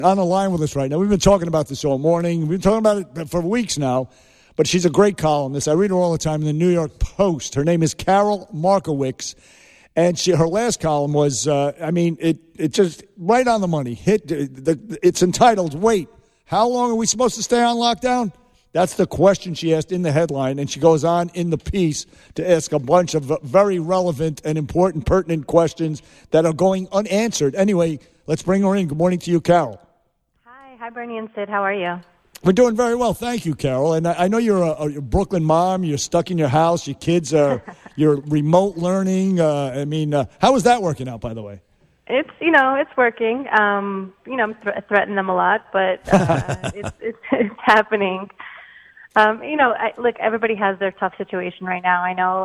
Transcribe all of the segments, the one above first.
on the line with us right now. We've been talking about this all morning. We've been talking about it for weeks now, but she's a great columnist. I read her all the time in the New York Post. Her name is Carol Markowicz, and her last column was, it just right on the money. It's entitled, Wait, how long are we supposed to stay on lockdown? That's the question she asked in the headline, and she goes on in the piece to ask a bunch of very relevant and important, pertinent questions that are going unanswered. Anyway, let's bring her in. Good morning to you, Carol. Hi, Bernie and Sid. How are you? We're doing very well. Thank you, Carol. And I know you're a Brooklyn mom. You're stuck in your house. Your kids are you're remote learning. How is that working out, by the way? It's working. I'm threatening them a lot, but it's happening. Look, everybody has their tough situation right now. I know.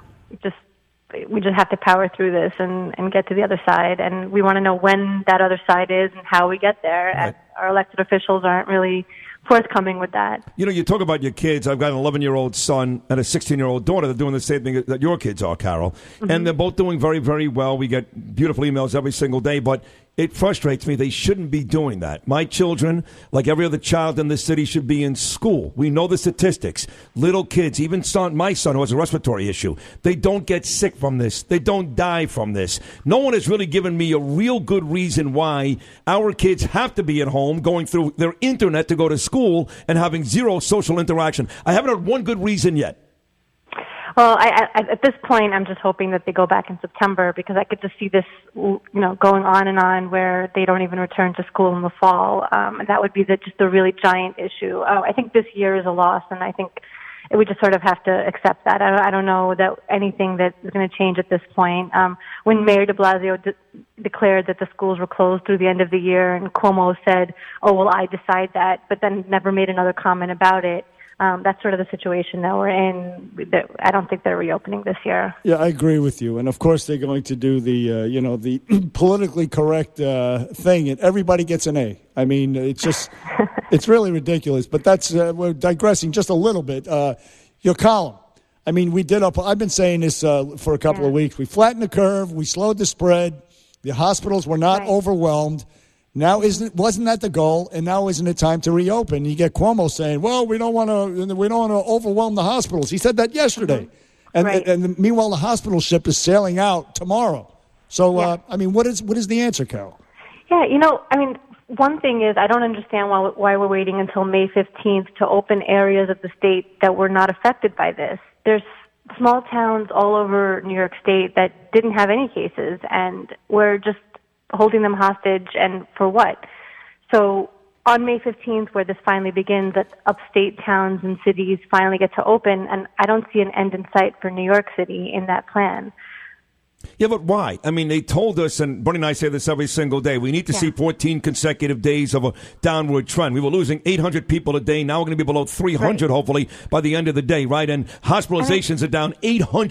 We just have to power through this and get to the other side. And we want to know when that other side is and how we get there. Right. And our elected officials aren't really forthcoming with that. You talk about your kids. I've got an 11-year-old son and a 16-year-old daughter. They're doing the same thing that your kids are, Carol. Mm-hmm. And they're both doing very, very well. We get beautiful emails every single day. But it frustrates me. They shouldn't be doing that. My children, like every other child in this city, should be in school. We know the statistics. Little kids, even my son who has a respiratory issue, they don't get sick from this. They don't die from this. No one has really given me a real good reason why our kids have to be at home going through their internet to go to school and having zero social interaction. I haven't heard one good reason yet. Well, at this point, I'm just hoping that they go back in September because I could just see this, going on and on where they don't even return to school in the fall. And that would be just a really giant issue. I think this year is a loss, and I think we just sort of have to accept that. I don't know that anything that is going to change at this point. When Mayor de Blasio declared that the schools were closed through the end of the year, and Cuomo said, "Oh, well, I decide that," but then never made another comment about it. That's sort of the situation that we're in. I don't think they're reopening this year. Yeah, I agree with you. And, of course, they're going to do the politically correct thing, and everybody gets an A. I mean, it's just it's really ridiculous. But that's we're digressing just a little bit. Your column. I mean, I've been saying this for a couple of weeks. We flattened the curve. We slowed the spread. The hospitals were not overwhelmed. Now, wasn't that the goal? And now isn't it time to reopen? You get Cuomo saying, "Well, we don't want to overwhelm the hospitals." He said that yesterday, and meanwhile, the hospital ship is sailing out tomorrow. So, what is the answer, Carol? Yeah, one thing is I don't understand why we're waiting until May 15th to open areas of the state that were not affected by this. There's small towns all over New York State that didn't have any cases, and we're just holding them hostage, and for what? So on May 15th, where this finally begins, that upstate towns and cities finally get to open, and I don't see an end in sight for New York City in that plan. Yeah, but why? I mean, they told us, and Bernie and I say this every single day, we need to see 14 consecutive days of a downward trend. We were losing 800 people a day. Now we're going to be below 300, hopefully, by the end of the day, right? And hospitalizations are down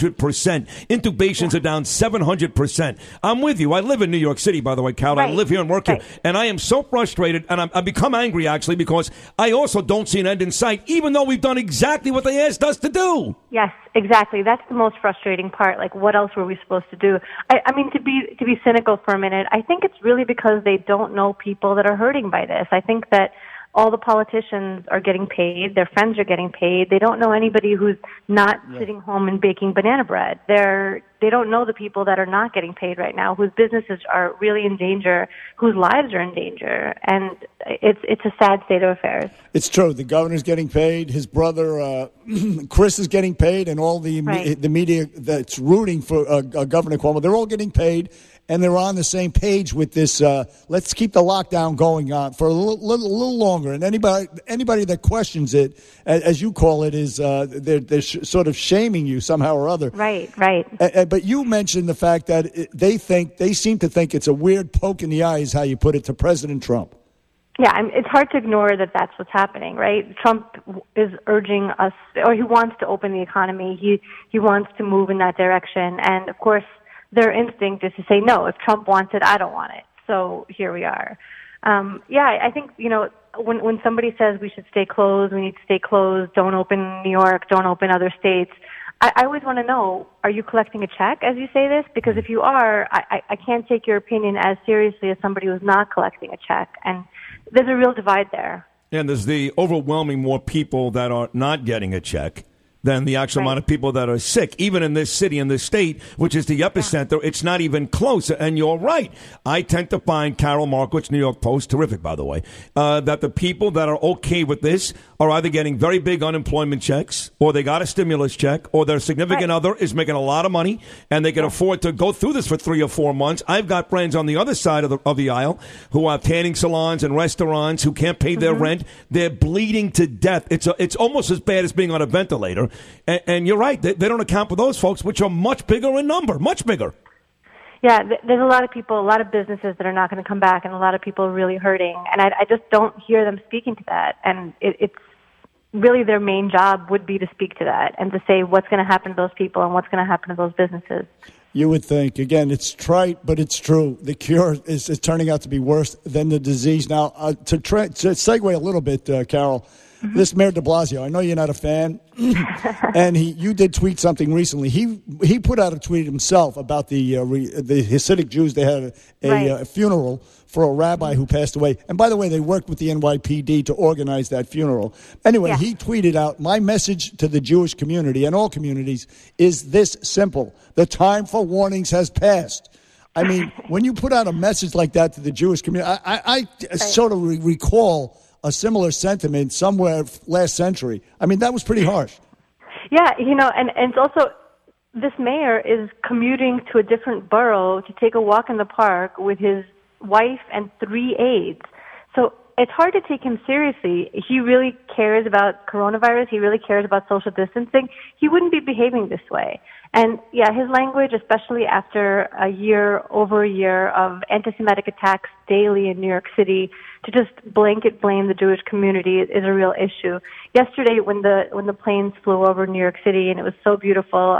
800%. Intubations are down 700%. I'm with you. I live in New York City, by the way, Carol. I live here and work here. And I am so frustrated, and I've become angry, actually, because I also don't see an end in sight, even though we've done exactly what they asked us to do. Yes, exactly. That's the most frustrating part. Like, what else were we supposed to do? I mean, to be cynical for a minute, I think it's really because they don't know people that are hurting by this. I think that all the politicians are getting paid. Their friends are getting paid. They don't know anybody who's not sitting home and baking banana bread. They don't know the people that are not getting paid right now, whose businesses are really in danger, whose lives are in danger. And it's a sad state of affairs. It's true. The governor's getting paid. His brother, Chris, is getting paid. And all the media that's rooting for Governor Cuomo, they're all getting paid. And they're on the same page with this. Let's keep the lockdown going on for a little longer. And anybody that questions it, as you call it, is they're sort of shaming you somehow or other. Right. But you mentioned the fact that they seem to think it's a weird poke in the eye, is how you put it, to President Trump. Yeah, it's hard to ignore that that's what's happening, right? Trump is urging us, or he wants to open the economy. He wants to move in that direction, and of course, their instinct is to say, no, if Trump wants it, I don't want it. So here we are. I think, when somebody says we should stay closed, we need to stay closed, don't open New York, don't open other states, I always want to know, are you collecting a check as you say this? Because if you are, I can't take your opinion as seriously as somebody who's not collecting a check. And there's a real divide there. And there's the overwhelming more people that are not getting a check than the actual amount of people that are sick. Even in this city, in this state, which is the epicenter, it's not even close. And you're right. I tend to find, Carol Markowitz, New York Post, terrific, by the way, that the people that are okay with this are either getting very big unemployment checks, or they got a stimulus check, or their significant other is making a lot of money, and they can afford to go through this for 3 or 4 months. I've got friends on the other side of the aisle who have tanning salons and restaurants who can't pay their rent. They're bleeding to death. It's almost as bad as being on a ventilator. And you're right. They don't account for those folks, which are much bigger in number, much bigger. Yeah, there's a lot of people, a lot of businesses that are not going to come back, and a lot of people are really hurting. And I just don't hear them speaking to that. And it's really their main job would be to speak to that and to say what's going to happen to those people and what's going to happen to those businesses. You would think. Again, it's trite, but it's true. The cure is turning out to be worse than the disease. Now, to segue a little bit, Carol, this Mayor de Blasio, I know you're not a fan, and you did tweet something recently. He put out a tweet himself about the Hasidic Jews. They had a funeral for a rabbi who passed away. And by the way, they worked with the NYPD to organize that funeral. Anyway, he tweeted out, "My message to the Jewish community and all communities is this simple. The time for warnings has passed." I mean, when you put out a message like that to the Jewish community, I sort of recall a similar sentiment somewhere last century. I mean, that was pretty harsh. Yeah, and it's also, this mayor is commuting to a different borough to take a walk in the park with his wife and 3 aides. So it's hard to take him seriously. He really cares about coronavirus. He really cares about social distancing. He wouldn't be behaving this way. And yeah, his language, especially after over a year of anti-Semitic attacks daily in New York City, to just blanket blame the Jewish community is a real issue. Yesterday, when the planes flew over New York City and it was so beautiful,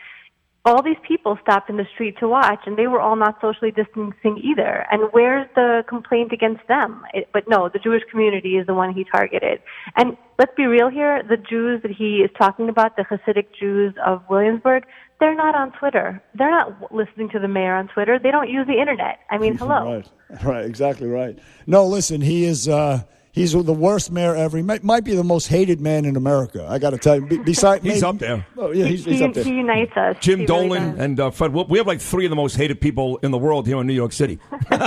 all these people stopped in the street to watch, and they were all not socially distancing either. And where's the complaint against them? But no, the Jewish community is the one he targeted. And let's be real here, the Jews that he is talking about, the Hasidic Jews of Williamsburg, they're not on Twitter. They're not listening to the mayor on Twitter. They don't use the internet. I mean, hello. Right, exactly right. No, listen, he's the worst mayor ever. He might be the most hated man in America. I got to tell you. He's up there. Oh, yeah, he's up there. He unites us. Jim Dolan and Fred. We have like 3 of the most hated people in the world here in New York City.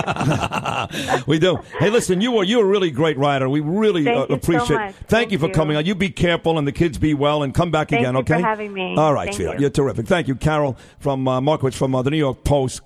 We do. Hey, listen, you're a really great writer. We really appreciate it. Thank you for coming on. You be careful and the kids be well and come back again, okay? Thank you for having me. All right, sweetheart. You're terrific. Thank you, Carol from Markowitz from the New York Post.